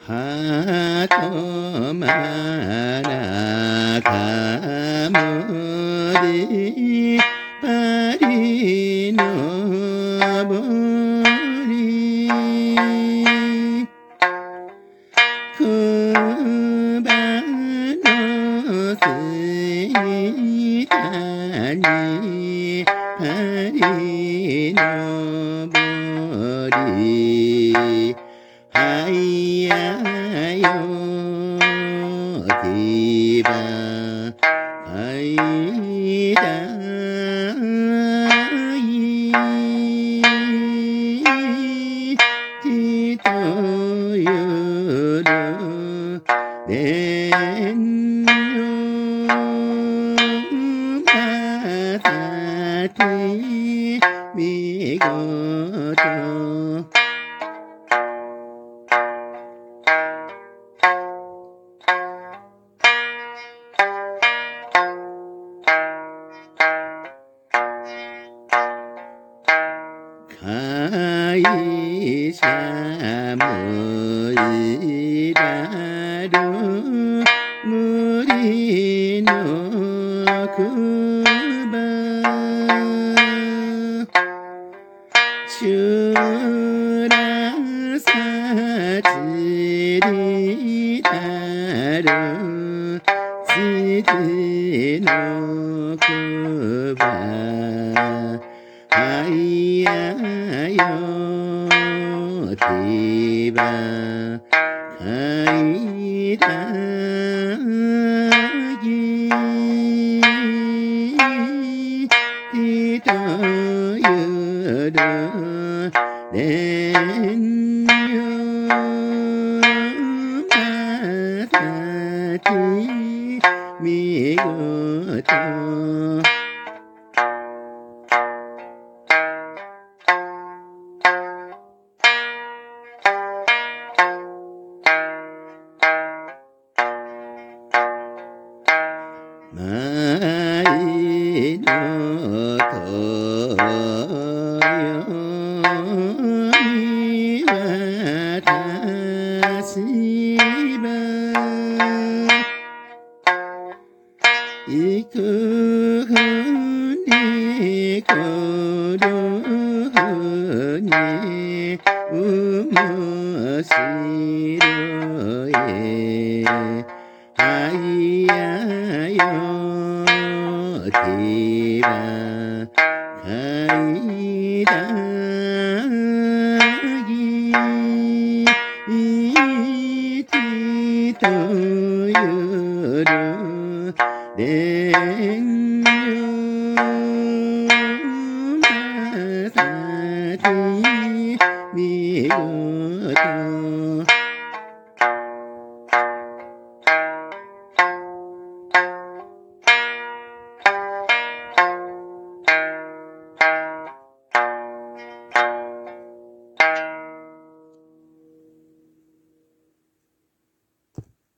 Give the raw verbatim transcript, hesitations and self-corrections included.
ハトマナカモデパリのぼりクバのすいたにパリのぼりはいやよてばはいだいちとゆるでんよまさてみごと会社もいらる森のくば修羅さちりたる土のくばはいやよてばはいだぎひとゆるでんよまさきみごと舞のとよにわたしばいくふにこるふにうもしろえはいやよてばはいだぎちとゆるでんよまさき